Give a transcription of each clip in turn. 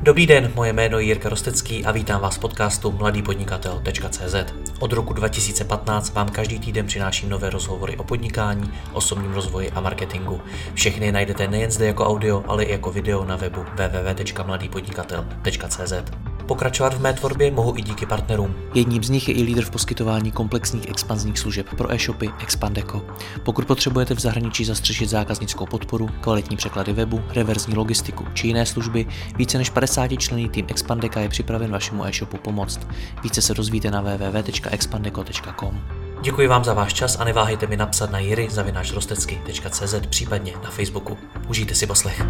Dobrý den, moje jméno je Jirka Rostecký a vítám vás v podcastu mladýpodnikatel.cz. Od roku 2015 vám každý týden přináším nové rozhovory o podnikání, osobním rozvoji a marketingu. Všechny najdete nejen zde jako audio, ale i jako video na webu www.mladýpodnikatel.cz. Pokračovat v mé tvorbě mohu i díky partnerům. Jedním z nich je i lídr v poskytování komplexních expanzních služeb pro e-shopy Expandeco. Pokud potřebujete v zahraničí zastřešit zákaznickou podporu, kvalitní překlady webu, reverzní logistiku či jiné služby, více než 50členný tým Expandeca je připraven vašemu e-shopu pomoct. Více se dozvíte na www.expandeco.com. Děkuji vám za váš čas a neváhejte mi napsat na jiry@rostecky.cz, případně na Facebooku. Užijte si poslech.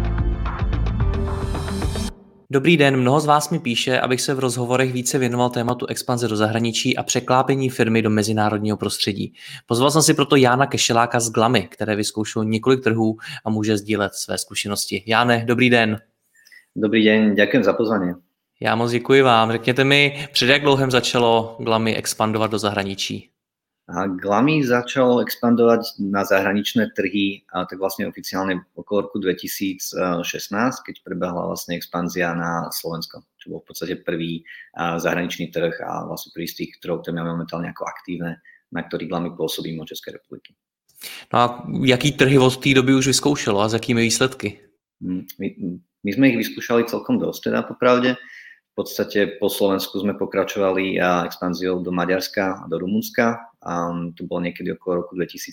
Dobrý den, mnoho z vás mi píše, abych se v rozhovorech více věnoval tématu expanze do zahraničí a překlápění firmy do mezinárodního prostředí. Pozval jsem si proto Jána Kešeláka z Glamy, které vyzkoušelo několik trhů a může sdílet své zkušenosti. Jáne, dobrý den. Dobrý den, děkuji za pozvání. Já moc děkuji vám. Řekněte mi, před jak dlouhem začalo Glamy expandovat do zahraničí? Glamy začalo expandovať na zahraničné trhy tak vlastne oficiálne okolo roku 2016, keď prebehla vlastne expanzia na Slovensko, čo bol v podstate prvý zahraničný trh a vlastne prvý z tých trhov, ktoré máme momentálne ako aktívne, na ktorých Glamy pôsobí mimo Českej republiky. No a jaký trhy od té doby už vyzkoušelo a s jakými výsledky? My sme ich vyskúšali celkom dosť, teda popravde. V podstate po Slovensku sme pokračovali expanziou do Maďarska a do Rumunska. To bolo niekedy okolo roku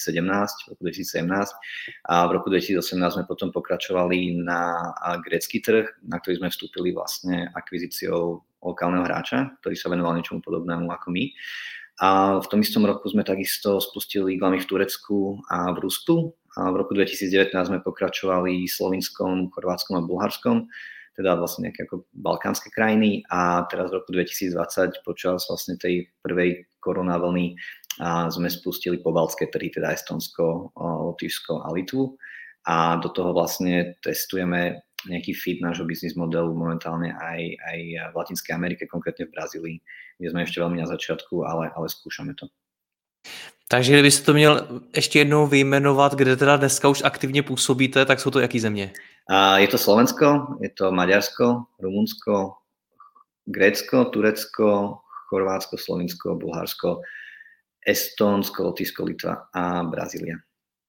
2017. A v roku 2018 sme potom pokračovali na grécky trh, na ktorý sme vstúpili vlastne akvizíciou lokálneho hráča, ktorý sa venoval niečomu podobnému ako my. A v tom istom roku sme takisto spustili Glamy v Turecku a v Rusku. A v roku 2019 sme pokračovali Slovinskom, Chorvátskom a Bulharskom, teda vlastne nejaké ako balkánske krajiny, a teraz v roku 2020 počas vlastne tej prvej koronavlny sme spustili pobaltské trhy, teda Estonsko, Lotyšsko a Litvu, a do toho vlastne testujeme nejaký fit nášho business modelu momentálne aj v Latinskej Amerike, konkrétne v Brazílii, kde sme ešte veľmi na začiatku, ale skúšame to. Takže kdybyste to měl ještě jednou vyjmenovat, kde teda dneska už aktivně působíte, tak jsou to jaký země? Je to Slovensko, je to Maďarsko, Rumunsko, Grécko, Turecko, Chorvátsko, Slovinsko, Bulharsko, Estonsko, Lotyšsko, Litva a Brazília.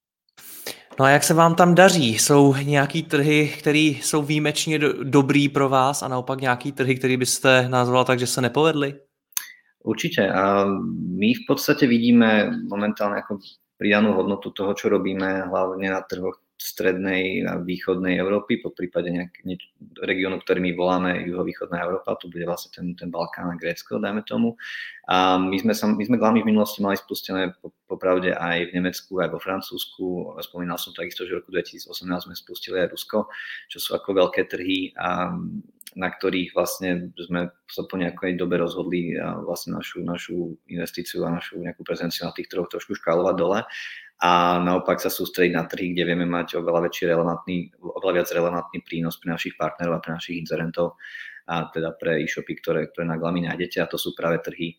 No a jak se vám tam daří? Jsou nějaký trhy, které jsou výjimečně dobrý pro vás a naopak nějaký trhy, které byste nazval tak, že se nepovedly? Určite. My v podstate vidíme momentálne ako pridanú hodnotu toho, čo robíme, hlavne na trhoch strednej a východnej Európy, po prípade regiónu, ktorý my voláme juhovýchodná Európa, tu bude vlastne ten Balkán a Grécko, dajme tomu. A my sme Glamy v minulosti mali spustené popravde aj v Nemecku, aj vo Francúzsku. Spomínal som takisto, že v roku 2018 sme spustili aj Rusko, čo sú ako veľké trhy, na ktorých vlastne sme sa po nejakej dobe rozhodli vlastne našu investíciu a našu nejakú prezenciu na tých trhoch trošku škálovať dole a naopak sa sústrediť na trhy, kde vieme mať oveľa viac relevantný prínos pre našich partnerov a pre našich inzerentov, a teda pre e-shopy, ktoré na Glamy nájdete, a to sú práve trhy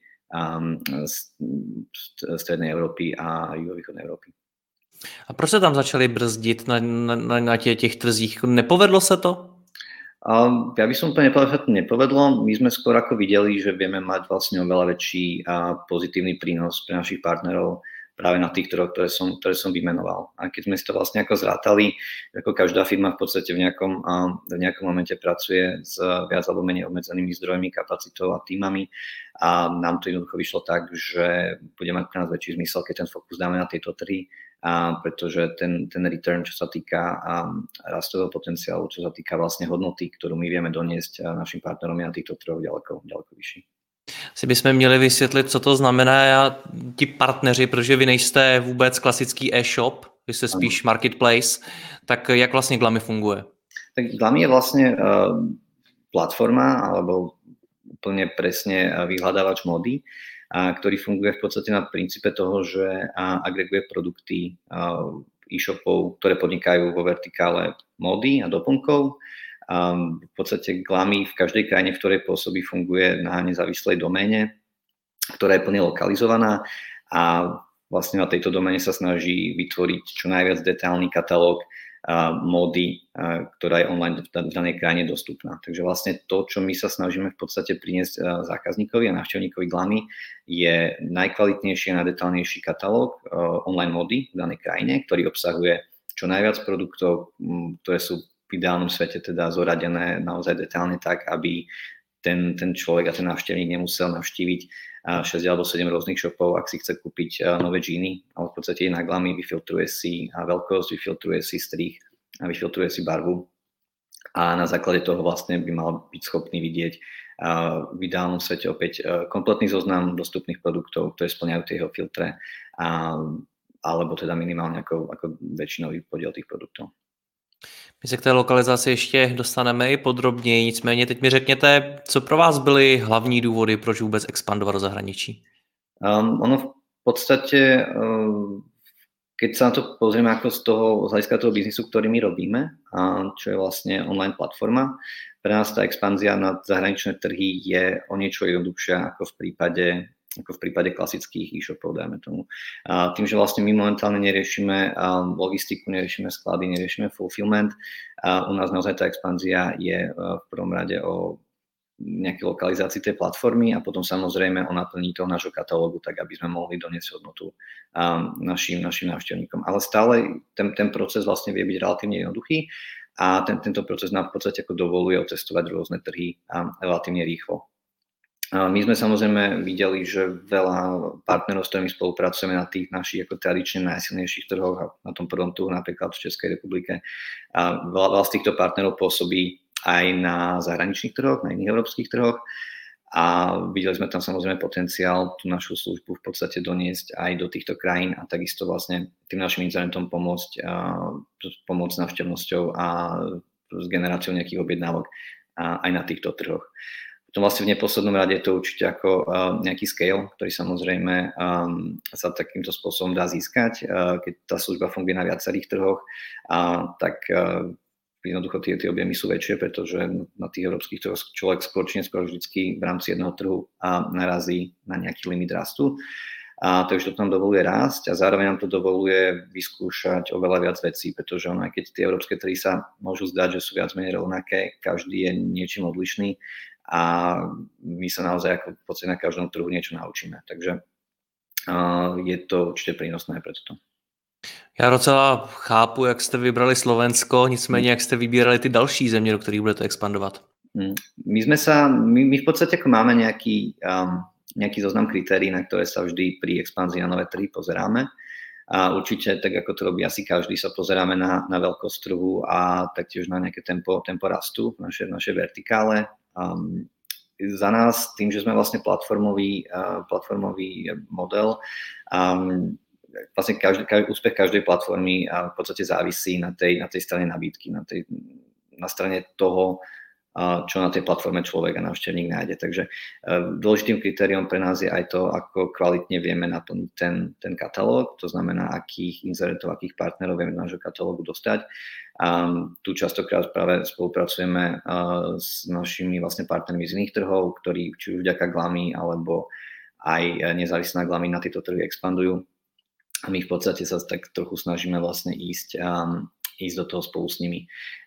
strednej Európy a juhovýchodnej Európy. A proč se tam začali brzdit na těch trzích? Nepovedlo se to? Ja by som úplne nepovedal, že to nepovedlo. My sme skôr ako videli, že vieme mať vlastne oveľa väčší a pozitívny prínos pre našich partnerov práve na tých trhoch, ktoré som vymenoval. A keď sme si to vlastne ako zrátali, ako každá firma v podstate v nejakom momente pracuje s viac alebo menej obmedzenými zdrojmi, kapacitou a týmami, a nám to jednoducho vyšlo tak, že bude mať pre nás väčší zmysel, keď ten fokus dáme na tieto trhy, pretože ten return, čo sa týka rastového potenciálu, čo sa týka vlastne hodnoty, ktorú my vieme doniesť našim partnerom, je na týchto trhoch ďaleko vyšší. Si bychom měli vysvětlit, co to znamená ti partneři, protože vy nejste vůbec klasický e-shop, vy jste spíš marketplace, tak jak vlastně Glamy funguje? Tak Glamy je vlastne platforma, alebo úplne presne vyhľadávač módy, ktorý funguje v podstate na princípe toho, že agreguje produkty e-shopov, ktoré podnikajú vo vertikále módy a doplnkov. V podstate Glamy v každej krajine, v ktorej pôsobí, funguje na nezávislej doméne, ktorá je plne lokalizovaná, a vlastne na tejto doméne sa snaží vytvoriť čo najviac detailný katalóg módy, ktorá je online v danej krajine dostupná. Takže vlastne to, čo my sa snažíme v podstate priniesť zákazníkovi a návštevníkovi Glamy, je najkvalitnejší a najdetailnejší katalóg online módy v danej krajine, ktorý obsahuje čo najviac produktov, ktoré sú v ideálnom svete teda zoradené naozaj detailne tak, aby ten človek a ten návštevník nemusel navštíviť 6 alebo 7 rôznych shopov, ak si chce kúpiť nové džíny, ale v podstate je na Glamy, vyfiltruje si veľkosť, vyfiltruje si strih a vyfiltruje si barvu a na základe toho vlastne by mal byť schopný vidieť v ideálnom svete opäť kompletný zoznam dostupných produktov, ktoré splňajú tie jeho filtre, alebo teda minimálne ako väčšinový podiel tých produktov. My se k té lokalizaci ještě dostaneme i podrobněji, nicméně teď mi řekněte, co pro vás byly hlavní důvody, proč vůbec expandovat do zahraničí? Ono v podstate, keď sa na to pozrieme ako z hľadiska toho biznisu, ktorý my robíme, čo je vlastne online platforma, pre nás tá expanzia na zahraničné trhy je o niečo jednoduchšia ako v prípade klasických e-shopov, dajme tomu. Tým, že vlastne my momentálne neriešime logistiku, neriešime sklady, neriešime fulfillment, u nás naozaj tá expanzia je v prvom rade o nejakej lokalizácii tej platformy a potom samozrejme o naplnení toho nášho katalógu, tak aby sme mohli doniesť hodnotu našim návštevníkom. Ale stále ten proces vlastne vie byť relatívne jednoduchý a tento proces nám v podstate ako dovoluje otestovať rôzne trhy relatívne rýchlo. My sme samozrejme videli, že veľa partnerov, s ktorými spolupracujeme na tých našich ako tradične najsilnejších trhoch a na tom prvom trhu napríklad v Českej republike. Veľa z týchto partnerov pôsobí aj na zahraničných trhoch, na iných európskych trhoch a videli sme tam samozrejme potenciál tú našu službu v podstate doniesť aj do týchto krajín a takisto vlastne tým našim internetom pomôcť návštevnosťou a s generáciou nejakých objednávok aj na týchto trhoch. Potom vlastne v neposlednom rade je to určite ako nejaký scale, ktorý samozrejme sa takýmto spôsobom dá získať. Keď tá služba funguje na viacerých trhoch, tak jednoducho tie objemy sú väčšie, pretože na tých európskych trhoch človek skôr či neskôr vždycky v rámci jedného trhu narazí na nejaký limit rastu. Takže to nám dovoluje rásť a zároveň nám to dovoluje vyskúšať oveľa viac vecí, pretože aj keď tie európske trhy sa môžu zdať, že sú viac menej rovnaké, každý je niečím odlišný a my sa naozaj ako v podstate na každom trhu niečo naučíme. Takže je to určitě prínosné pre toto. Já docela chápu, jak jste vybrali Slovensko, nicméně jak jste vybírali ty další země, do kterých budete expandovat. My v podstate ako máme nejaký zoznam kritérií, na ktoré sa vždy pri expanzii na nové trhy pozeráme. A určite, tak ako to robí asi každý, sa pozeráme na veľkosť trhu a taktiež na nejaké tempo rastu v našej vertikále. Za nás, tým, že sme vlastne platformový model, vlastne úspech každej platformy v podstate závisí na tej strane nabídky, na strane toho, čo na tej platforme človek a návštevník nájde. Takže dôležitým kritériom pre nás je aj to, ako kvalitne vieme naplniť ten katalóg, to znamená, akých inzerentov, akých partnerov vieme do nášho katalógu dostať. Tu častokrát práve spolupracujeme s našimi vlastne partnermi z iných trhov, ktorí či už vďaka Glamy alebo aj nezávisle na Glamy na tieto trhy expandujú. A my v podstate sa tak trochu snažíme vlastne ísť do toho spolu s nimi.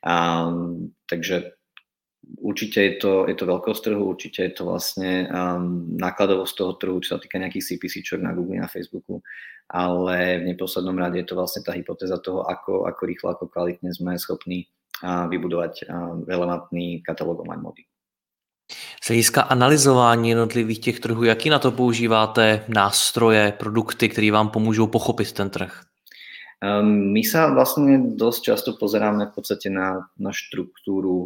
Takže určite je to veľkosť trhu, určite je to vlastne nákladovosť toho trhu, čo sa týka nejakých CPC-čok na Google, na Facebooku, ale v neposlednom rade je to vlastne tá hypotéza toho, ako rýchlo, ako kvalitne sme schopní vybudovať relevantný katalóg online módy. Z hlediska analyzování jednotlivých těch trhů, jaký na to používáte nástroje, produkty, které vám pomůžou pochopit ten trh? My sa vlastne dosť často pozeráme v podstate na štruktúru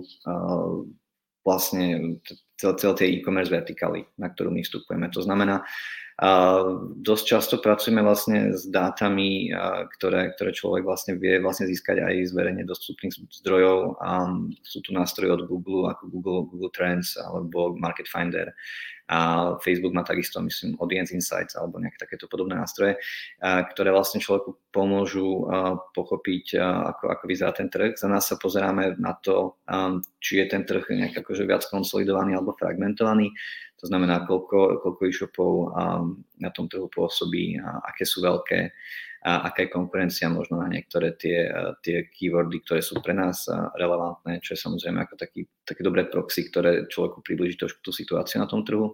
vlastne celé tej e-commerce vertikály, na ktorú my vstupujeme. To znamená, dosť často pracujeme vlastne s dátami, ktoré človek vlastne vie vlastne získať aj z verejne dostupných zdrojov. Sú tu nástroje od Google, ako Google Trends alebo Market Finder. A Facebook má takisto, myslím, Audience Insights alebo nejaké takéto podobné nástroje, ktoré vlastne človeku pomôžu pochopiť, ako vyzerá ten trh. Za nás sa pozeráme na to, či je ten trh nejak akože viac konsolidovaný alebo fragmentovaný. To znamená, koľko e-shopov na tom trhu pôsobí, aké sú veľké, a aká je konkurencia možno na niektoré tie keywordy, ktoré sú pre nás relevantné, čo je samozrejme ako také dobré proxy, ktoré človeku priblíži trošku tú situáciu na tom trhu.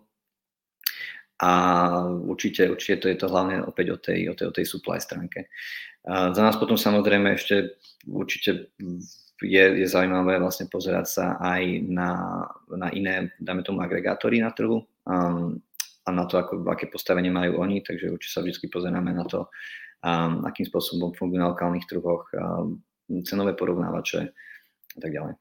A určite to je to hlavne opäť o tej supply stránke. Za nás potom samozrejme ešte určite je zaujímavé vlastne pozerať sa aj na iné, dáme tomu, agregátory na trhu a na to, aké postavenie majú oni, takže určite sa vždy pozeráme na to, akým spôsobom fungujú na lokálnych trhoch, cenové porovnávače a tak ďalej.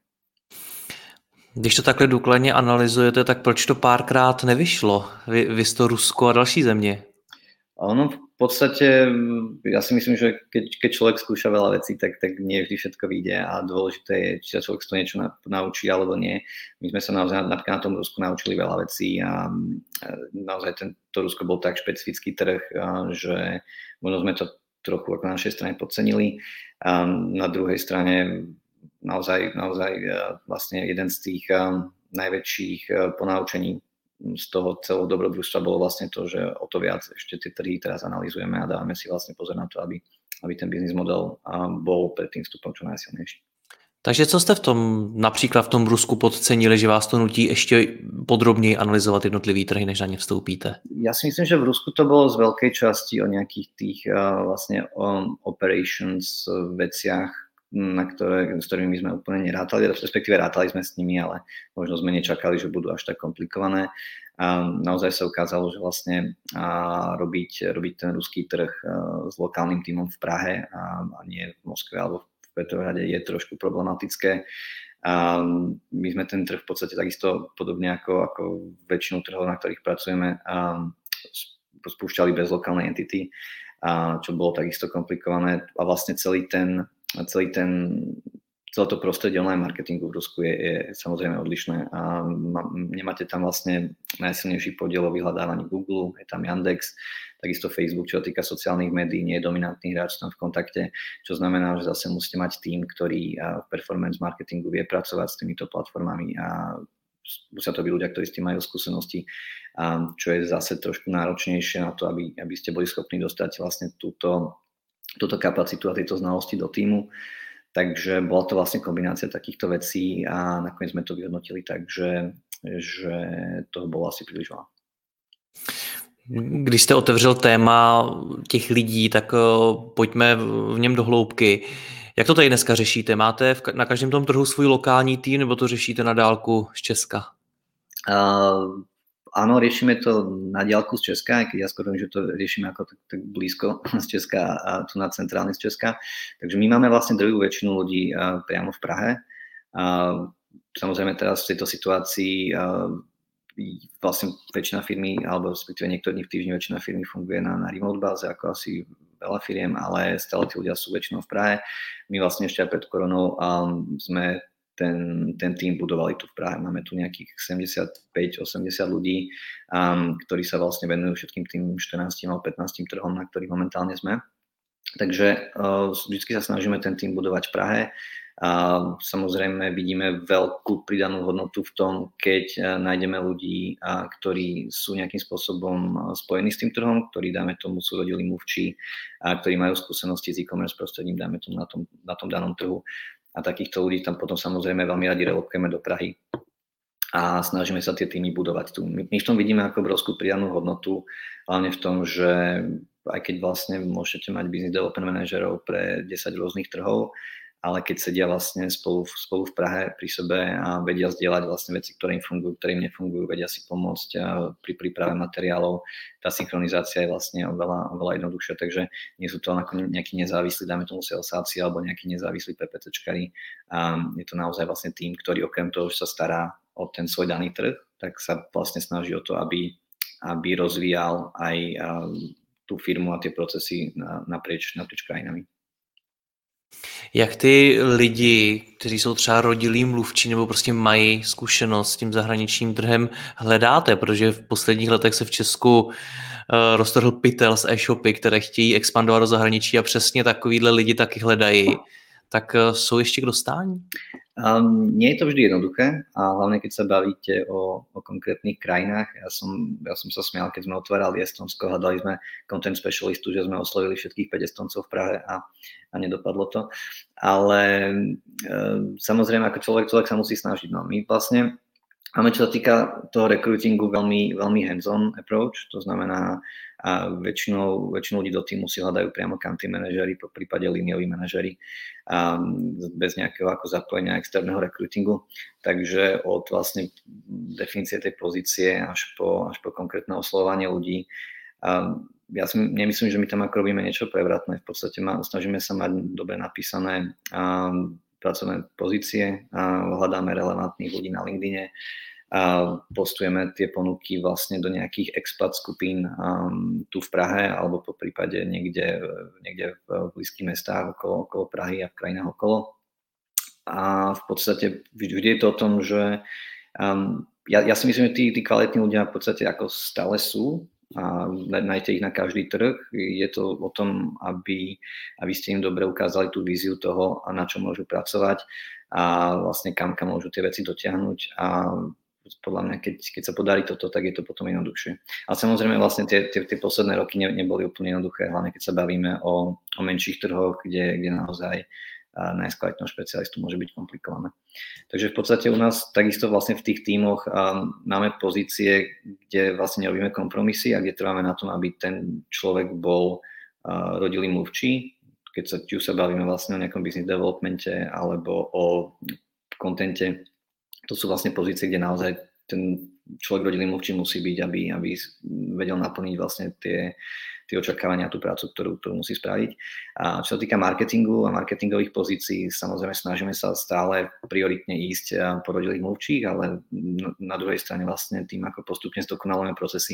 Když to takhle důkladně analyzujete, tak proč to párkrát nevyšlo? Vy to Rusko a další země? Ono v podstate, ja si myslím, že keď človek skúša veľa vecí, tak nie vždy všetko vyjde a dôležité je, či sa človek z toho niečo naučí alebo nie. My sme sa naozaj napríklad na tom Rusku naučili veľa vecí a naozaj to Rusko bol tak špecifický trh, že možno sme to trochu ako na našej strane podcenili. A na druhej strane naozaj vlastne jeden z tých najväčších ponaučení z toho celého dobrodružstva bolo vlastne to, že o to viac ešte tie trhy teraz analyzujeme a dávame si vlastne pozor na to, aby ten business model bol pred tým vstupom čo najsilnejší. Takže co jste například v tom Rusku podcenili, že vás to nutí ještě podrobněji analyzovat jednotlivý trhy, než na ně vstoupíte? Ja si myslím, že v Rusku to bolo z veľkej časti o nejakých tých vlastne operations veciach, s ktorými sme úplne nerátali, respektíve rátali sme s nimi, ale možno sme nečakali, že budú až tak komplikované. A naozaj sa ukázalo, že vlastne robiť ten ruský trh s lokálnym tímom v Prahe a nie v Moskve alebo v Petrohrade je trošku problematické. A my sme ten trh v podstate takisto podobne ako väčšinu trhov, na ktorých pracujeme, spúšťali bez lokálnej entity, čo bolo takisto komplikované a vlastne celé to prostredie online marketingu v Rusku je samozrejme odlišné a nemáte tam vlastne najsilnejší podiel o vyhľadávaní Google, je tam Yandex, takisto Facebook, čo sa týka sociálnych médií, nie je dominantný hráč tam v kontakte, čo znamená, že zase musíte mať tým, ktorý v performance marketingu vie pracovať s týmito platformami a musia to byť ľudia, ktorí s tým majú skúsenosti, čo je zase trošku náročnejšie na to, aby ste boli schopní dostať vlastne túto kapacitu a tieto znalosti do týmu. Takže bola to vlastne kombinácia takýchto vecí a nakoniec sme to vyhodnotili tak, že toho bolo asi príliš veľa. Když jste otevřel téma těch lidí, tak pojďme v něm do hloubky. Jak to tady dneska řešíte? Máte na každém tom trhu svůj lokální tým, nebo to řešíte na dálku z Česka? Áno, riešime to na diaľku z Česka, aj keď ja skôr že to riešime ako tak blízko z Česka a tu na centrálne z Česka. Takže my máme vlastne druhú väčšinu ľudí priamo v Prahe. Samozrejme teraz v tejto situácii vlastne väčšina firmy, alebo respektíve niektoré dní v týždni väčšina firmy funguje na remote báze, ako asi veľa firiem, ale stále tí ľudia sú väčšinou v Prahe. My vlastne ešte aj pred koronou sme ten tým budovali tu v Prahe. Máme tu nejakých 75-80 ľudí, ktorí sa vlastne venujú všetkým tým 14 alebo 15 trhom, na ktorých momentálne sme. Takže vždy sa snažíme ten tým budovať v Prahe. Samozrejme vidíme veľkú pridanú hodnotu v tom, keď nájdeme ľudí, ktorí sú nejakým spôsobom spojení s tým trhom, ktorí, dáme tomu, sú rodilí mluvčí, ktorí majú skúsenosti s e-commerce prostredím, dáme tomu na tom danom trhu. A takýchto ľudí tam potom samozrejme veľmi radi relokujeme do Prahy a snažíme sa tie týmy budovať tu. My v tom vidíme ako obrovskú pridanú hodnotu, hlavne v tom, že aj keď vlastne môžete mať business development manažerov pre 10 rôznych trhov, ale keď sedia vlastne spolu v Prahe pri sebe a vedia zdieľať vlastne veci, ktoré im fungujú, ktoré im nefungujú, vedia si pomôcť pri príprave materiálov. Tá synchronizácia je vlastne oveľa jednoduchšia, takže nie sú to nejakí nezávislí, dáme tomu salesáci alebo nejakí nezávislí PPCčkari. Je to naozaj vlastne tým, ktorý okrem toho, že sa stará o ten svoj daný trh, tak sa vlastne snaží o to, aby rozvíjal aj tú firmu a tie procesy naprieč krajinami. Jak ty lidi, kteří jsou třeba rodilí mluvčí nebo prostě mají zkušenost s tím zahraničním trhem, hledáte? Protože v posledních letech se v Česku roztrhl pytel z e-shopy, které chtějí expandovat do zahraničí a přesně takovýhle lidi taky hledají. tak sú ešte k dostání? Nie je to vždy jednoduché a hlavne keď sa bavíte o konkrétnych krajinách. Ja som sa smial, keď sme otvárali Estonsko, hľadali sme content specialistu, že sme oslovili všetkých 5 Estoncov v Prahe a nedopadlo to. Ale samozrejme, ako človek sa musí snažiť. No, my vlastne máme, čo sa týka toho recruitingu, veľmi, veľmi hands-on approach, to znamená, a väčšinou ľudí do týmu si hľadajú priamo country manažery, po prípade línioví manažery, bez nejakého ako zapojenia externého recruitingu. Takže od vlastne definície tej pozície až po konkrétne oslovovanie ľudí. Ja si nemyslím, že my tam ako robíme niečo prevratné. V podstate snažíme sa mať dobre napísané pracovné pozície, hľadáme relevantných ľudí na LinkedIne, a postujeme tie ponuky vlastne do nejakých expat skupín tu v Prahe alebo po prípade niekde v blízkych mestách okolo Prahy a v krajinách okolo. A v podstate vždy je to o tom, že ja si myslím, že tí kvalitní ľudia v podstate ako stále sú a nájdete ich na každý trh. Je to o tom, aby ste im dobre ukázali tú víziu toho, na čo môžu pracovať a vlastne kam môžu tie veci dotiahnuť a podľa mňa, keď sa podarí toto, tak je to potom jednoduchšie. Ale samozrejme vlastne tie posledné roky neboli úplne jednoduché, hlavne keď sa bavíme o menších trhoch, kde naozaj nájsť kvalitného špecialistu môže byť komplikované. Takže v podstate u nás takisto vlastne v tých tímoch máme pozície, kde vlastne nerobíme kompromisy a kde trváme na tom, aby ten človek bol rodilý mluvčí, keď sa bavíme vlastne o nejakom business developmente alebo o kontente. To sú vlastne pozície, kde naozaj ten človek rodilý mluvčí musí byť, aby vedel naplniť vlastne tie očakávania a tú prácu, ktorú musí spraviť. A čo sa týka marketingu a marketingových pozícií, samozrejme snažíme sa stále prioritne ísť po rodilých mluvčích, ale na druhej strane vlastne tým, ako postupne zdokonalujeme procesy,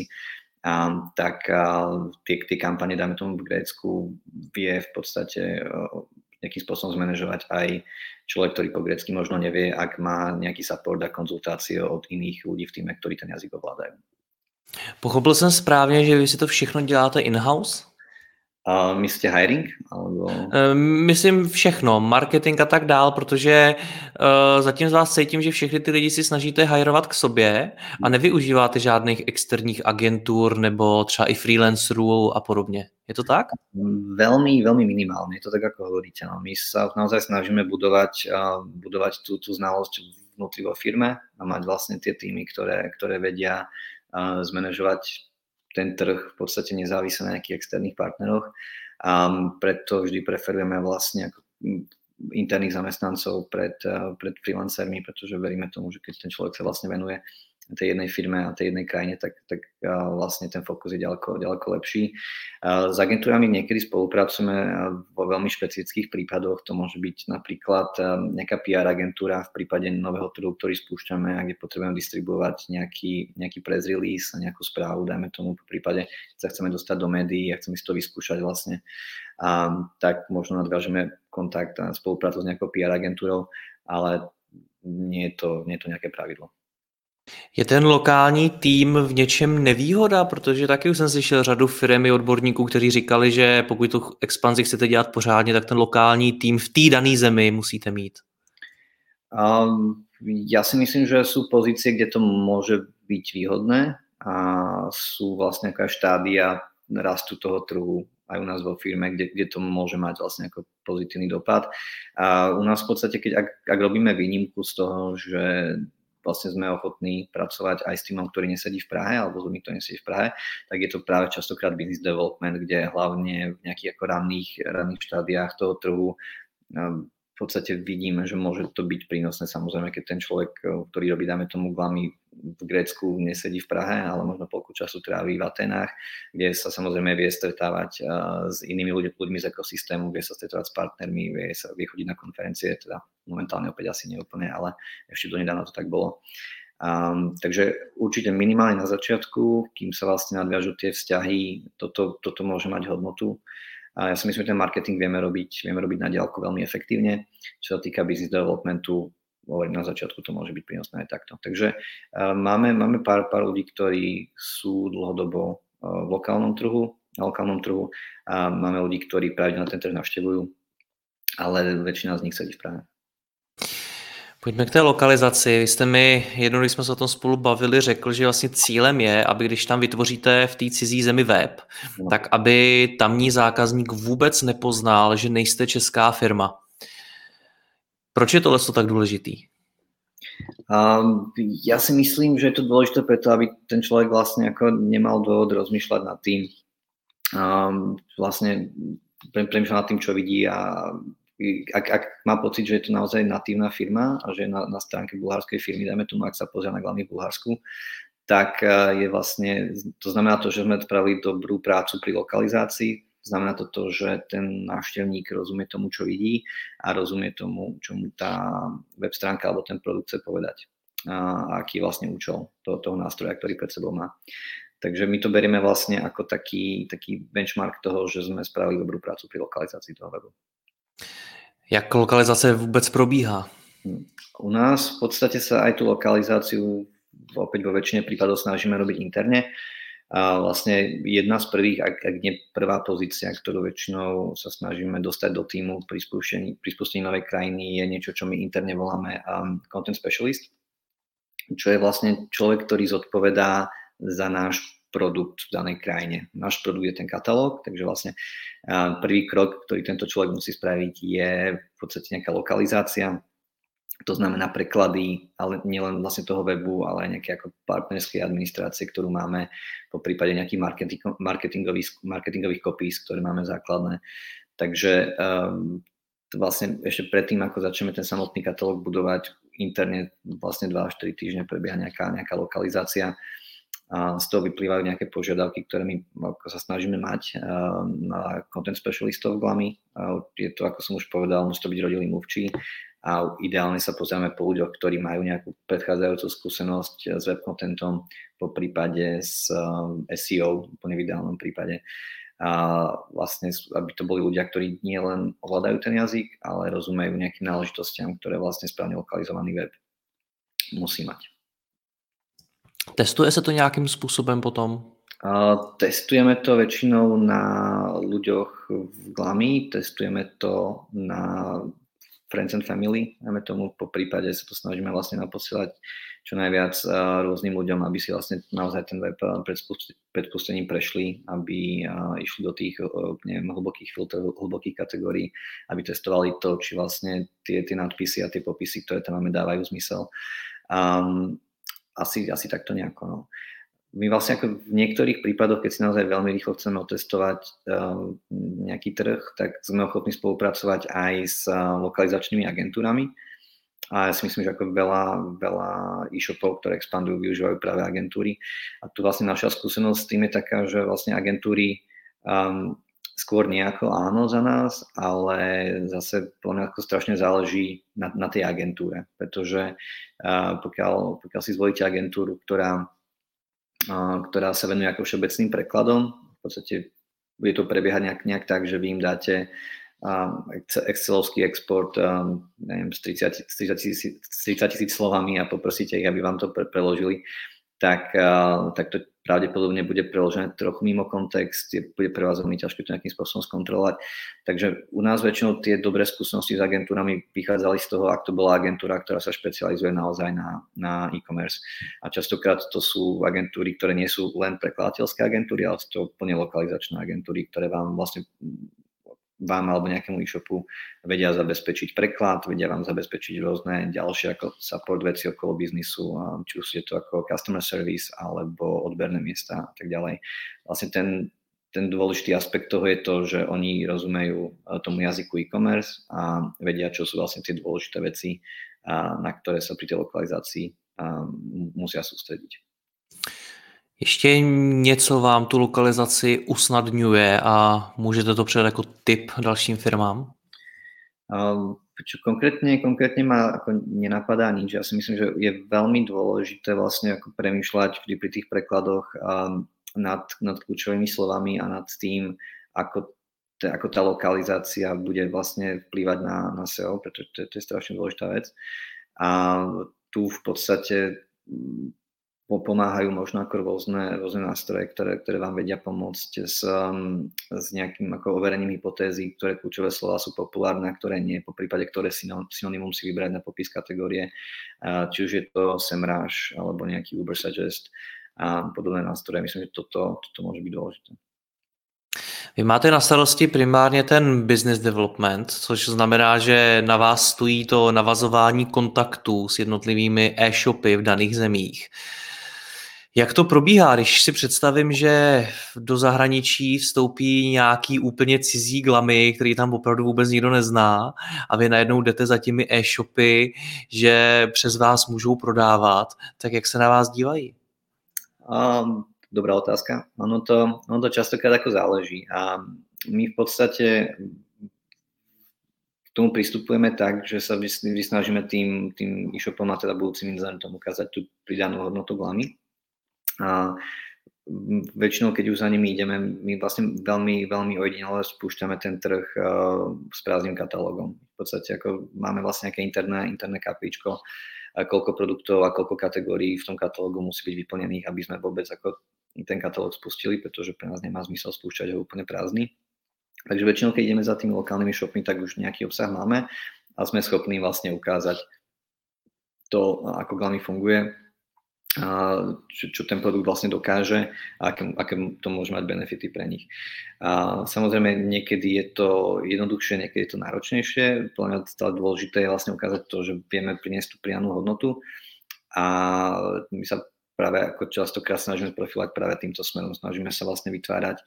tak tie kampane, dáme tomu v Grécku, vie v podstate nejakým spôsobom zmanéžovať aj človek, ktorý po grécky možno nevie, ak má nejaký support a konzultácie od iných ľudí v týme, ktorí ten jazyk ovládajú. Pochopil jsem správně, že vy si to všechno děláte in-house? Myslíte hiring? Alebo... Myslím všechno, marketing a tak dál, protože zatím z vás cítím, že všechny ty lidi si snažíte hajrovat k sobě a nevyužíváte žádných externích agentur nebo třeba i freelancerů a podobně. Je to tak? Veľmi, veľmi minimálne, je to tak, ako hovoríte. No. My sa naozaj snažíme budovať tú znalosť vnútri vo firme a mať vlastne tie týmy, ktoré vedia zmanéžovať ten trh v podstate nezávisle na nejakých externých partneroch. A preto vždy preferujeme vlastne ako interných zamestnancov pred freelancermi, pretože veríme tomu, že keď ten človek sa vlastne venuje tej jednej firme a tej jednej krajine, tak vlastne ten fokus je ďaleko lepší. S agentúrami niekedy spolupracujeme vo veľmi špecifických prípadoch. To môže byť napríklad nejaká PR agentúra v prípade nového trhu, ktorý spúšťame a kde potrebujeme distribuovať nejaký press release a nejakú správu, dajme tomu v prípade, keď sa chceme dostať do médií a chceme si to vyskúšať vlastne, tak možno nadviažeme kontakt a spoluprácu s nejakou PR agentúrou, ale nie je to nejaké pravidlo. Je ten lokální tým v něčem nevýhoda, protože taky už jsem slyšel řadu firem i odborníků, kteří říkali, že pokud tu expanzi chcete dělat pořádně, tak ten lokální tým v té dané zemi musíte mít. Ja si myslím, že sú pozície, kde to môže byť výhodné a sú vlastne nejaká štádia rastu toho trhu aj u nás vo firme, kde to môže mať vlastne ako pozitívny dopad. A u nás v podstate, ak robíme výnimku z toho, že vlastne sme ochotní pracovať aj s týmom, ktorý nesedí v Prahe, alebo s ľuďmi, ktorí nesedí v Prahe, tak je to práve častokrát business development, kde hlavne v nejakých ako ranných štádiách toho trhu v podstate vidíme, že môže to byť prínosné. Samozrejme, keď ten človek, ktorý robí, dáme tomu glami v Grécku, nesedí v Prahe, ale možno polku času tráví v Atenách, kde sa samozrejme vie stretávať s inými ľuďmi z ekosystému, vie sa stretávať s partnermi, vie chodiť na konferencie, teda momentálne opäť asi neúplne, ale ešte donedávna to tak bolo. Takže určite minimálne na začiatku, kým sa vlastne nadviažú tie vzťahy, toto môže mať hodnotu. A ja si myslím, že ten marketing vieme robiť na diaľku veľmi efektívne. Čo sa týka business developmentu, hovorím, na začiatku to môže byť prínosné aj takto. Takže máme pár ľudí, ktorí sú dlhodobo na lokálnom trhu a máme ľudí, ktorí pravidelne ten trh navštevujú ale väčšina z nich sedí v Prahe. Pojďme k té lokalizaci. Vy jste mi jednou, když jsme se o tom spolu bavili, řekl, že vlastně cílem je, aby když tam vytvoříte v té cizí zemi web, tak aby tamní zákazník vůbec nepoznal, že nejste česká firma. Proč je tohle tak důležitý? Ja si myslím, že je to dôležité preto, aby ten človek vlastne ako nemal dôvod rozmýšľať nad tým, vlastne premýšľať nad tým, čo vidí, a ak má pocit, že je to naozaj natívna firma a že je na stránke bulharskej firmy, dajme tomu, ak sa pozrie na glavný v Bulharsku, tak je vlastne, to znamená to, že sme spravili dobrú prácu pri lokalizácii. Znamená to, že ten návštevník rozumie tomu, čo vidí, a rozumie tomu, čo mu tá web stránka alebo ten produkt chce povedať. A aký je vlastne účel toho nástroja, ktorý pred sebou má. Takže my to berieme vlastne ako taký benchmark toho, že sme spravili dobrú prácu pri lokalizácii toho webu. Jak lokalizace vůbec probíhá? U nás v podstate sa aj tú lokalizáciu opäť vo väčšine prípadov snažíme robiť interne. A vlastne jedna z prvých, ak nie prvá pozícia, ktorú väčšinou sa snažíme dostať do týmu pri spustení novej krajiny, je niečo, čo my interne voláme content specialist, čo je vlastne človek, ktorý zodpovedá za náš produkt v danej krajine. Náš produkt je ten katalóg, takže vlastne prvý krok, ktorý tento človek musí spraviť, je v podstate nejaká lokalizácia. To znamená preklady, ale nielen vlastne toho webu, ale aj nejaké ako partnerskej administrácie, ktorú máme, po prípade nejakých marketingových copies, ktoré máme základné. Takže vlastne ešte predtým, ako začneme ten samotný katalóg budovať, interne vlastne 2 až 4 týždne prebieha nejaká lokalizácia. A z toho vyplývajú nejaké požiadavky, ktoré my ako sa snažíme mať na content specialistov v GLAMI. Je to, ako som už povedal, musí to byť rodilý mluvčí, a ideálne sa pozrieme po ľuďoch, ktorí majú nejakú predchádzajúcu skúsenosť s web contentom, po prípade s SEO, úplne v ideálnom prípade. A vlastne, aby to boli ľudia, ktorí nie len ovládajú ten jazyk, ale rozumejú nejakým náležitostiam, ktoré vlastne správne lokalizovaný web musí mať. Testuje se to nějakým způsobem potom? Testujeme to väčšinou na ľuďoch v GLAMI, testujeme to na friends and family, dajme tomu, po prípade sa to snažíme vlastne naposielať čo najviac rôznym ľuďom, aby si vlastne naozaj ten web pred spustením prešli, aby išli do tých, neviem, hlbokých filtrov, hlbokých kategórií, aby testovali to, či vlastne tie nadpisy a tie popisy, ktoré tam máme, dávajú zmysel. Asi takto nejako, no. My vlastne ako v niektorých prípadoch, keď si naozaj veľmi rýchlo chceme otestovať nejaký trh, tak sme ochotní spolupracovať aj s lokalizačnými agentúrami. A ja si myslím, že ako veľa e-shopov, ktoré expandujú, využívajú práve agentúry. A tu vlastne naša skúsenosť s tým je taká, že vlastne agentúry skôr nejako áno za nás, ale zase ako strašne záleží na tej agentúre. Pretože pokiaľ si zvolíte agentúru, ktorá sa venuje ako všeobecným prekladom, v podstate bude to prebiehať nejak tak, že vy im dáte excelovský export, neviem, s 30 000 slovami a poprosíte ich, aby vám to preložili, tak to pravdepodobne bude preložené trochu mimo kontext, bude pre vás veľmi ťažké to nejakým spôsobom skontrolovať. Takže u nás väčšinou tie dobré skúsenosti s agentúrami vychádzali z toho, ak to bola agentúra, ktorá sa špecializuje naozaj na e-commerce. A častokrát to sú agentúry, ktoré nie sú len prekladateľské agentúry, ale sú to plne lokalizačné agentúry, ktoré vám alebo nejakému e-shopu vedia zabezpečiť preklad, vedia vám zabezpečiť rôzne ďalšie ako support veci okolo biznisu, či už je to ako customer service alebo odberné miesta a tak ďalej. Vlastne ten dôležitý aspekt toho je to, že oni rozumejú tomu jazyku e-commerce a vedia, čo sú vlastne tie dôležité veci, na ktoré sa pri tej lokalizácii musia sústrediť. Ještě něco vám tu lokalizaci usnadňuje a můžete to předat jako tip dalším firmám? Konkrétne ma ako nenapadá nič. Ja si myslím, že je veľmi dôležité vlastne ako premýšľať vždy pri tých prekladoch nad kľúčovými slovami a nad tým, ako tá lokalizácia bude vlastne vplývať na SEO, pretože to je strašne dôležitá vec. A tu v podstate pomáhajú možno ako rôzne nástroje, ktoré vám vedia pomôcť s nejakým ako overením hypotézy, ktoré kľúčové slova sú populárne a ktoré nie, po prípade ktoré synonymum si vybrať na popis kategórie, či už je to SEMrush alebo nejaký Ubersuggest a podobné nástroje. Myslím, že toto môže byť dôležité. Vy máte na starosti primárně ten business development, což znamená, že na vás stojí to navazování kontaktů s jednotlivými e-shopy v daných zemích. Jak to probíhá, když si představím, že do zahraničí vstoupí nějaký úplně cizí glamy, který tam opravdu vůbec nikdo nezná a vy najednou jdete za těmi e-shopy, že přes vás můžou prodávat, tak jak se na vás dívají? Dobrá otázka. Ono to častokrát ako záleží a my v podstate k tomu pristupujeme tak, že sa vysnažíme tým e-shopom a teda budúcim inzerentom ukázať tú pridanú hodnotu glamy. A väčšinou, keď už za nimi ideme, my vlastne veľmi, veľmi ojedinele spúšťame ten trh s prázdnym katalógom. V podstate ako máme vlastne nejaké interné kapíčko, koľko produktov a koľko kategórií v tom katalógu musí byť vyplnených, aby sme vôbec ako ten katalóg spustili, pretože pre nás nemá zmysel spúšťať ho úplne prázdny. Takže väčšinou, keď ideme za tými lokálnymi shopmi, tak už nejaký obsah máme a sme schopní vlastne ukázať to, ako glamy funguje, čo ten produkt vlastne dokáže a aké to môže mať benefity pre nich. Samozrejme, niekedy je to jednoduchšie, niekedy je to náročnejšie. Podľa mňa stále dôležité je vlastne ukázať to, že vieme priniesť tú pridanú hodnotu a my sa práve ako častokrát snažíme profilovať práve týmto smerom. Snažíme sa vlastne vytvárať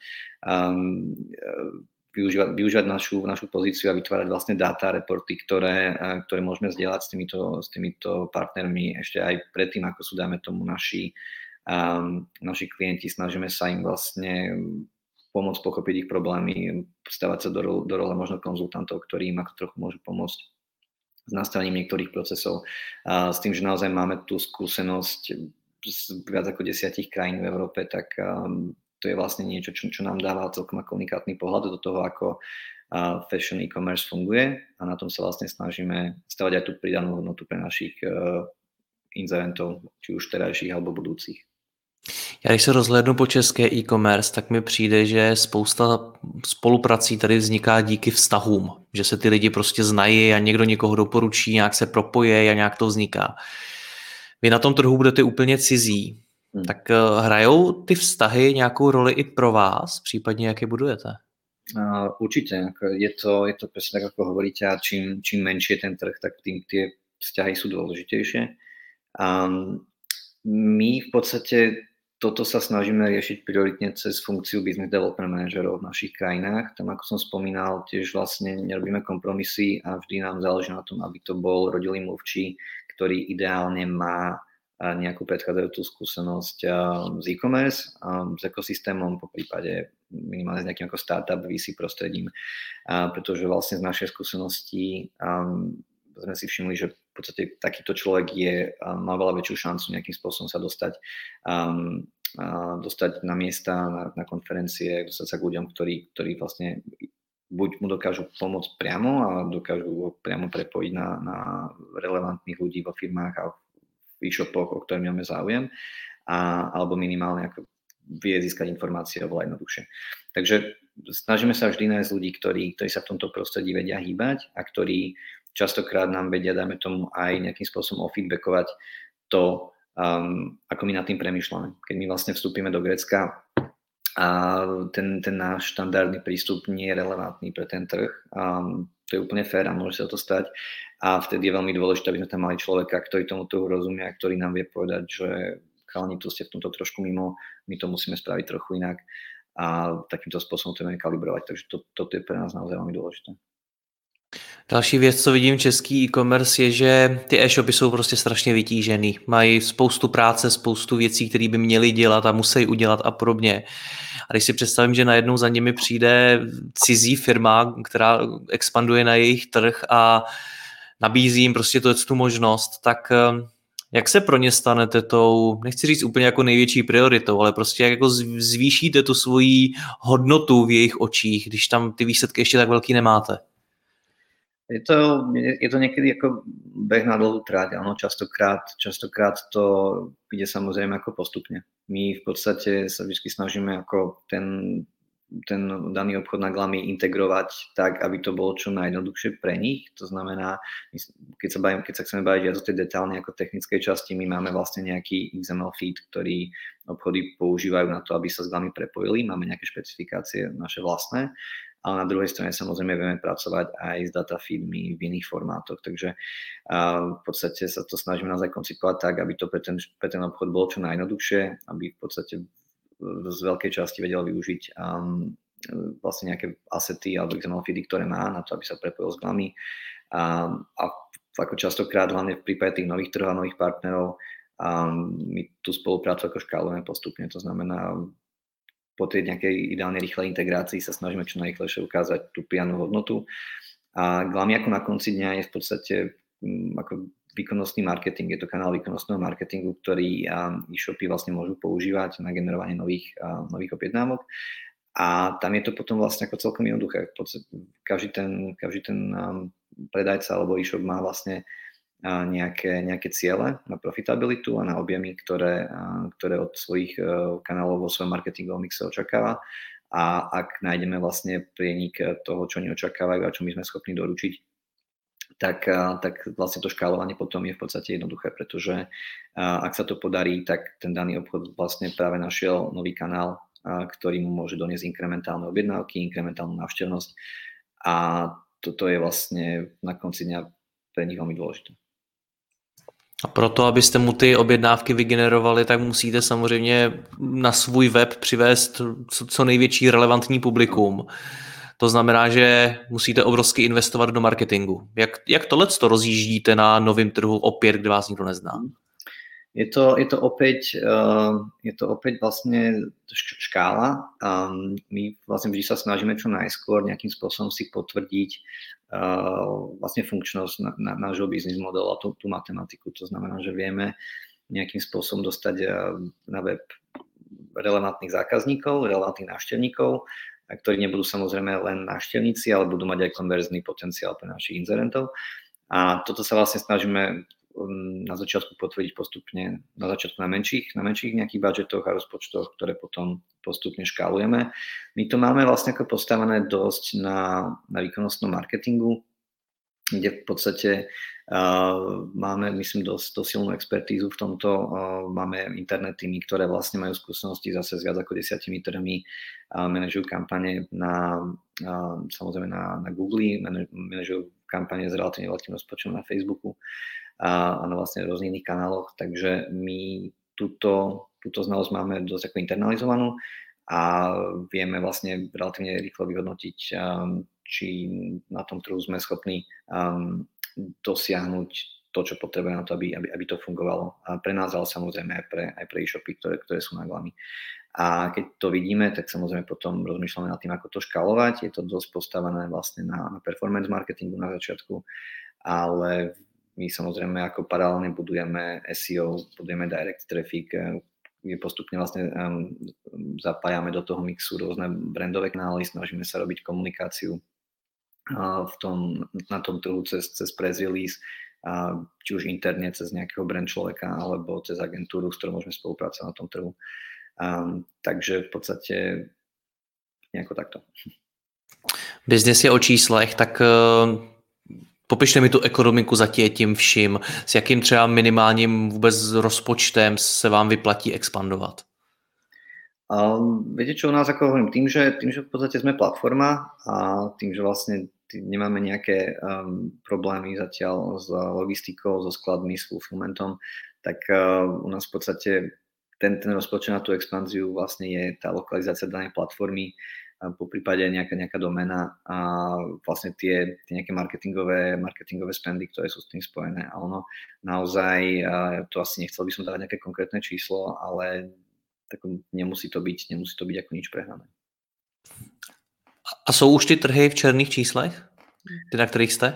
využívať našu pozíciu a vytvárať vlastne dáta, reporty, ktoré môžeme zdieľať s týmito partnermi ešte aj predtým, ako sú, dáme tomu, naši klienti. Snažíme sa im vlastne pomôcť pochopiť ich problémy, stavať sa do role možno konzultantov, ktorí im ako trochu môžu pomôcť s nastavením niektorých procesov. S tým, že naozaj máme tú skúsenosť z viac ako 10 krajín v Európe, tak to je vlastne niečo, čo nám dáva celkom ako unikátny pohľad do toho, ako fashion e-commerce funguje a na tom sa vlastne snažíme stavať aj tú pridanú hodnotu pre našich inzerentov, či už terajších alebo budúcich. Já když se rozhlédnu po české e-commerce, tak mi přijde, že spousta spoluprací tady vzniká díky vztahům, že se ty lidi prostě znají a někdo někoho doporučí, nějak se propoje a nějak to vzniká. Vy na tom trhu budete úplně cizí, tak hrajou ty vztahy nějakou roli i pro vás, případně jak je budujete? Určite, je to presne tak, ako hovoríte, a čím menší je ten trh, tak tým tie vzťahy sú dôležitejšie. My v podstate toto sa snažíme riešiť prioritne cez funkciu business development manažerov v našich krajinách. Tam, ako som spomínal, tiež vlastne nerobíme kompromisy a vždy nám záleží na tom, aby to bol rodilý mluvčí, ktorý ideálne má nejakú predchádzajúcu skúsenosť z e-commerce, s ekosystémom, po prípade minimálne s nejakým ako startup VC prostredím, pretože vlastne z našej skúsenosti sme si všimli, že v podstate takýto človek má veľa väčšiu šancu nejakým spôsobom sa dostať na miesta, na konferencie, dostať sa k ľuďom, ktorí vlastne buď mu dokážu pomôcť priamo a dokážu ho priamo prepojiť na relevantných ľudí vo firmách a v e-shopoch, o ktoré máme záujem, alebo minimálne ako vie získať informácie oveľa jednoduchšie. Takže snažíme sa vždy nájsť ľudí, ktorí sa v tomto prostredí vedia hýbať a ktorí častokrát nám vedia, dajme tomu, aj nejakým spôsobom ofeedbackovať to, ako my nad tým premýšľame. Keď my vlastne vstúpime do Grécka a ten náš štandardný prístup nie je relevantný pre ten trh, to je úplne fér a môže sa to stať. A vtedy je veľmi dôležité, aby sme tam mali človeka, ktorý tomu trhu rozumie a ktorý nám vie povedať, že chalani, tu ste v tomto trošku mimo, my to musíme spraviť trochu inak a takýmto spôsobom to budeme kalibrovať. Takže toto je pre nás naozaj veľmi dôležité. Další věc, co vidím v český e-commerce, je, že ty e-shopy jsou prostě strašně vytížený. Mají spoustu práce, spoustu věcí, které by měli dělat a musí udělat a podobně. A když si představím, že najednou za nimi přijde cizí firma, která expanduje na jejich trh a nabízí jim prostě tu možnost, tak jak se pro ně stanete tou, nechci říct úplně jako největší prioritou, ale prostě jak jako zvýšíte tu svoji hodnotu v jejich očích, když tam ty výsledky ještě tak velký nemáte? Je to niekedy ako beh na dlhú trať, áno, častokrát to ide samozrejme ako postupne. My v podstate sa vždy snažíme ako ten daný obchod na Glami integrovať tak, aby to bolo čo najjednoduchšie pre nich. To znamená, keď sa chceme baviť viac o tej detálnej ako technickej časti, my máme vlastne nejaký XML feed, ktorý obchody používajú na to, aby sa s Glami prepojili. Máme nejaké špecifikácie naše vlastné, ale na druhej strane samozrejme vieme pracovať aj s data feedmi v iných formátoch. Takže v podstate sa to snažíme naozaj koncipovať tak, aby to pre ten obchod bolo čo najjednoduchšie, aby v podstate z veľkej časti vedel využiť vlastne nejaké asety alebo XML feedy, ktoré má na to, aby sa prepojil s Glami. A ako častokrát, hlavne v prípade tých nových trhov a nových partnerov, my tú spoluprácu ako škálujeme postupne. To znamená, po tej nejakej ideálne rýchlej integrácii sa snažíme čo najrýchlejšie ukázať tú pridanú hodnotu. A Glami ako na konci dňa je v podstate ako výkonnostný marketing, je to kanál výkonnostného marketingu, ktorý e-shopy vlastne môžu používať na generovanie nových objednávok. A tam je to potom vlastne ako celkom jednoduché. Každý ten predajca alebo e-shop má vlastne nejaké ciele na profitabilitu a na objemy, ktoré od svojich kanálov vo svojom marketingovom mixe očakáva. A ak nájdeme vlastne prienik toho, čo oni očakávajú a čo my sme schopní doručiť, tak vlastne to škálovanie potom je v podstate jednoduché, pretože ak sa to podarí, tak ten daný obchod vlastne práve našiel nový kanál, ktorý mu môže doniesť inkrementálne objednávky, inkrementálnu návštevnosť a toto je vlastne na konci dňa pre nich veľmi dôležité. A proto, abyste mu ty objednávky vygenerovali, tak musíte samozřejmě na svůj web přivést co největší relevantní publikum. To znamená, že musíte obrovsky investovat do marketingu. Jak tohleto rozjíždíte na novém trhu opět, kde vás nikdo nezná? Je to opäť vlastne škála. My vlastne vždy sa snažíme čo najskôr nejakým spôsobom si potvrdiť vlastne funkčnosť nášho biznis modelu a tú matematiku. To znamená, že vieme nejakým spôsobom dostať na web relevantných zákazníkov, relevantných návštevníkov, ktorí nebudú samozrejme len návštevníci, ale budú mať aj konverzný potenciál pre našich inzerentov. A toto sa vlastne snažíme na začiatku potvrdiť postupne, na začiatku na menších nejakých budžetoch a rozpočtoch, ktoré potom postupne škálujeme. My to máme vlastne ako postavené dosť na výkonnostnom marketingu, kde v podstate máme, myslím, dosť silnú expertízu v tomto. Máme internet týmy, ktoré vlastne majú skúsenosti zase s viac ako 10 trhmi, manažujú kampane samozrejme na Google, manažujú kampane s relatívne veľkým rozpočtom na Facebooku a na vlastne rôznych iných kanáloch, takže my túto znalosť máme dosť ako internalizovanú a vieme vlastne relatívne rýchlo vyhodnotiť, či na tom trhu sme schopní dosiahnuť to, čo potrebujeme na to, aby to fungovalo. A pre nás, ale samozrejme aj pre e-shopy, ktoré sú na Glami. A keď to vidíme, tak samozrejme potom rozmýšľame nad tým, ako to škálovať. Je to dosť postavené vlastne na performance marketingu na začiatku, ale my samozrejme ako paralelne budujeme SEO, budujeme direct traffic, postupne vlastne zapájame do toho mixu rôzne brandové kanály, snažíme sa robiť komunikáciu na tom trhu cez press release, či už interne cez nejakého brand človeka alebo cez agentúru, s ktorou môžeme spolupracovať na tom trhu. Takže v podstate nejako takto. Biznes je o číslech, tak popište mi tu ekonomiku za tím vším. S jakým třeba minimálním vůbec rozpočtem se vám vyplatí expandovat? Viete čo, u nás, ako hovorím, tým, že v podstate sme platforma a tým, že vlastne nemáme nejaké problémy zatiaľ s logistikou, so skladmi, s fulfillmentom, tak u nás v podstate ten rozpočet na tú expanziu vlastne je tá lokalizácia danej platformy, po prípade nejaká doména a vlastne tie nejaké marketingové spendy, ktoré sú s tým spojené. A ono naozaj, to asi nechcel by som dávať nejaké konkrétne číslo, ale tak nemusí to byť ako nič prehnané. A jsou už ty trhy v černých číslech, ty, na ktorých ste?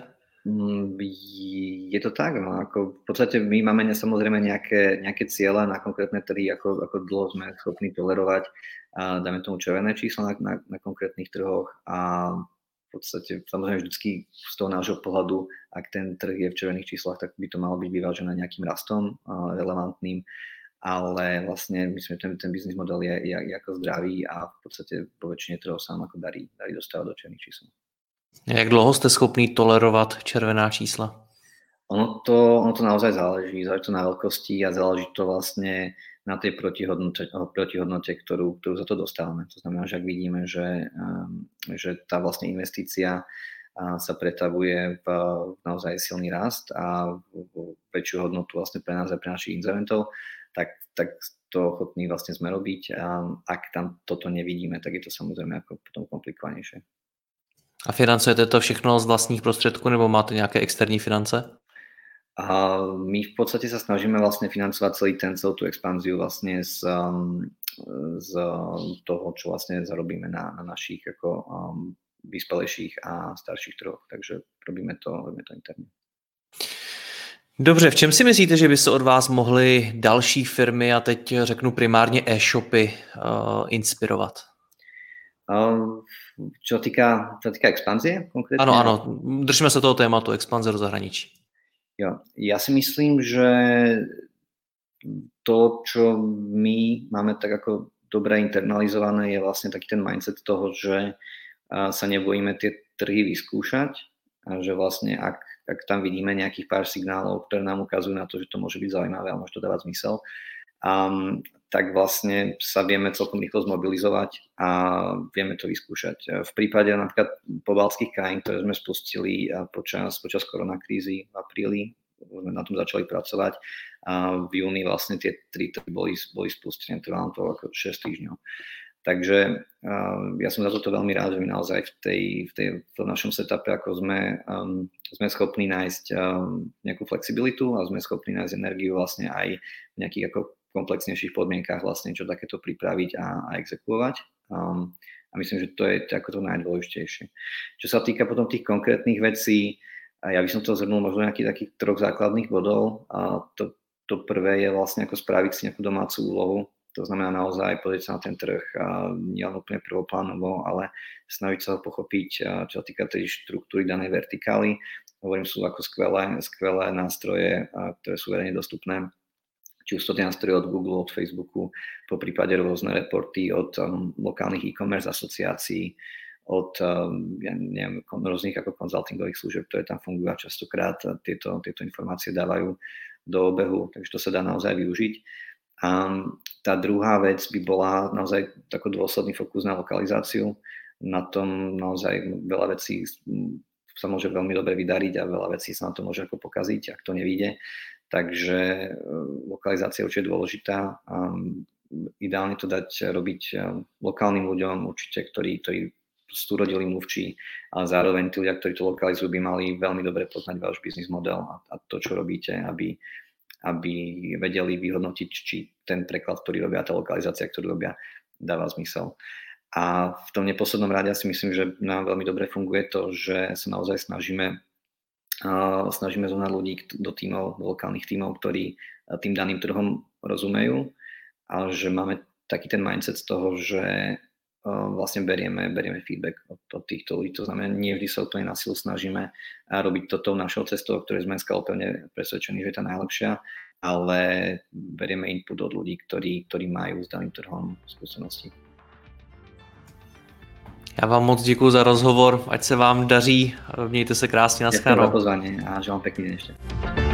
Je to tak, no, ako v podstate my máme samozrejme nejaké ciele na konkrétne trhy, ako dlho sme schopní tolerovať, dáme tomu červené čísla na konkrétnych trhoch a v podstate samozrejme vždycky z toho nášho pohľadu, ak ten trh je v červených číslach, tak by to malo byť vyvážené nejakým rastom relevantným, ale vlastne myslím, že ten biznis model je ako zdravý a v podstate po väčšine trhov sa nám ako darí dostávať do červených čísel. Jak dlouho jste schopný tolerovat červená čísla? Ono to naozaj záleží to na veľkosti a záleží to vlastne na tej protihodnote, ktorú za to dostávame. To znamená, že ak vidíme, že tá vlastne investícia sa pretavuje v naozaj silný rast a väčšiu hodnotu vlastne pre nás a pre našich inzerentov, tak to ochotní vlastne sme robiť. A ak tam toto nevidíme, tak je to samozrejme ako potom komplikovanejšie. A financujete to všechno z vlastních prostředků nebo máte nějaké externí finance? A my v podstate sa snažíme vlastne financovať celú tú expanziu vlastne z toho, čo vlastne zarobíme na našich ako vyspelejších a starších trhoch. Takže robíme to interne. Dobře, v čem si myslíte, že by se od vás mohly další firmy, a teď řeknu primárně e-shopy, inspirovat? Čo týka expanzie konkrétne? Áno, držme sa toho tématu, expanzie do zahraničí. Jo, ja si myslím, že to, čo my máme tak ako dobre internalizované, je vlastne taký ten mindset toho, že sa nebojíme tie trhy vyskúšať a že vlastne ak tam vidíme nejakých pár signálov, ktoré nám ukazujú na to, že to môže byť zaujímavé a môže to dávať zmysel, tak vlastne sa vieme celkom rýchlo zmobilizovať a vieme to vyskúšať. V prípade napríklad pobaltských krajín, ktoré sme spustili počas koronakrízy v apríli, sme na tom začali pracovať a v júni vlastne tie 3 boli spustené, trvalo to ako 6 týždňov. Takže ja som za toto veľmi rád, že my naozaj v našom setupe ako sme schopní nájsť nejakú flexibilitu a sme schopní nájsť energiu vlastne aj v nejakých ako komplexnejších podmienkách vlastne čo takéto pripraviť a exekuovať. A myslím, že to je ako to najdôležitejšie. Čo sa týka potom tých konkrétnych vecí, ja by som to zhrnul možno nejakých takých 3 základných bodov. To prvé je vlastne ako spraviť si nejakú domácu úlohu. To znamená naozaj pozrieť sa na ten trh nie len úplne prvoplánovo, ale snažiť sa ho pochopiť, čo sa týka tej štruktúry danej vertikály. Hovorím, sú ako skvelé nástroje, ktoré sú verejne dostupné. Či už to nástroje od Google, od Facebooku, po prípade rôzne reporty od lokálnych e-commerce asociácií, od rôznych ako konzultingových služieb, ktoré tam fungujú a častokrát tieto informácie dávajú do obehu, takže to sa dá naozaj využiť. A tá druhá vec by bola naozaj taký dôsledný fokus na lokalizáciu. Na tom naozaj veľa vecí sa môže veľmi dobre vydariť a veľa vecí sa na to môže ako pokaziť, ak to nevyjde. Takže lokalizácia určite je dôležitá. Ideálne to dať robiť lokálnym ľuďom určite, ktorí sú rodilí mluvčí, ale zároveň tí ľudia, ktorí to lokalizujú, by mali veľmi dobre poznať váš biznis model a to, čo robíte, aby vedeli vyhodnotiť, či ten preklad, ktorý robia, tá lokalizácia, ktorú robia, dáva zmysel. A v tom neposlednom rade si myslím, že nám veľmi dobre funguje to, že sa naozaj snažíme zohnať ľudí do tímov, do lokálnych tímov, ktorí tým daným trhom rozumejú a že máme taký ten mindset z toho, že vlastne berieme feedback od týchto ľudí. To znamená, nie vždy sa úplne na silu snažíme robiť to tou našou cestou, o ktorej sme dneska pevne presvedčení, že je tá najlepšia, ale berieme input od ľudí, ktorí majú s daným trhom skúsenosti. Já vám moc děkuji za rozhovor, ať se vám daří, mějte se krásně, nashledanou. Ďakujem za pozvanie a želám pekný deň ešte.